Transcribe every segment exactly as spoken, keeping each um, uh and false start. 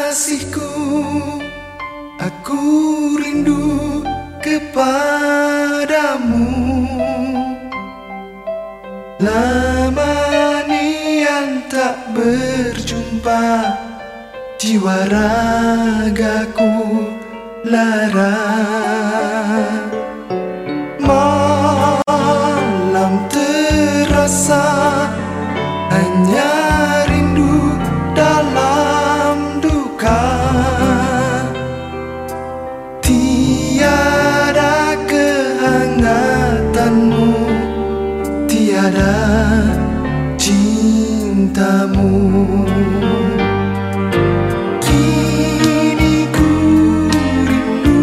Kekasihku, aku rindu kepadamu. Lama nian tak berjumpa, jiwa ragaku lara. Malam terasa hanya rindu dalam duka. Tiada kehangatanmu, tiada cintamu. Kini ku rindu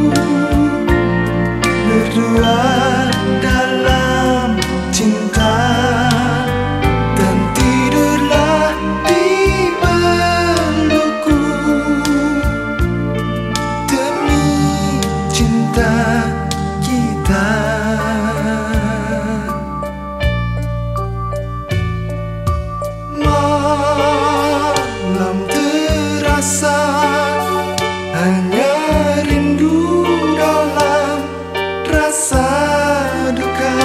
berdua dalam cinta, dan tidurlah di pelukku demi cinta kita. Malam terasa hanya rindu dalam rasa duka.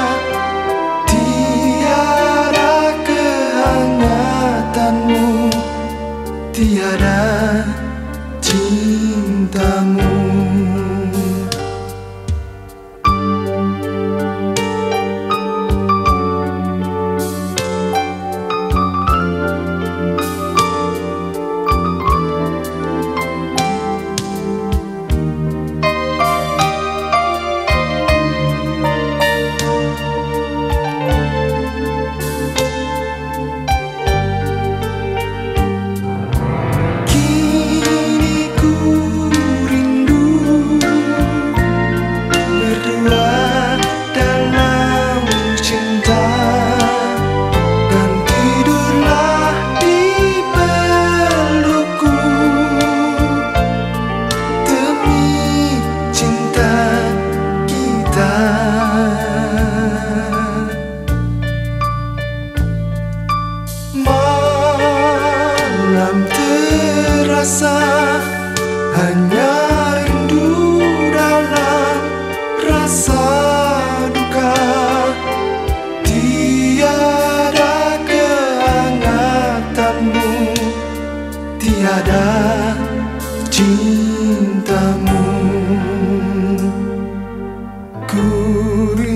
Tiada kehangatanmu, tiada cintamu. Malam terasa hanya rindu dalam rasa duka. Tiada kehangatanmu, tiada cintamu. Ku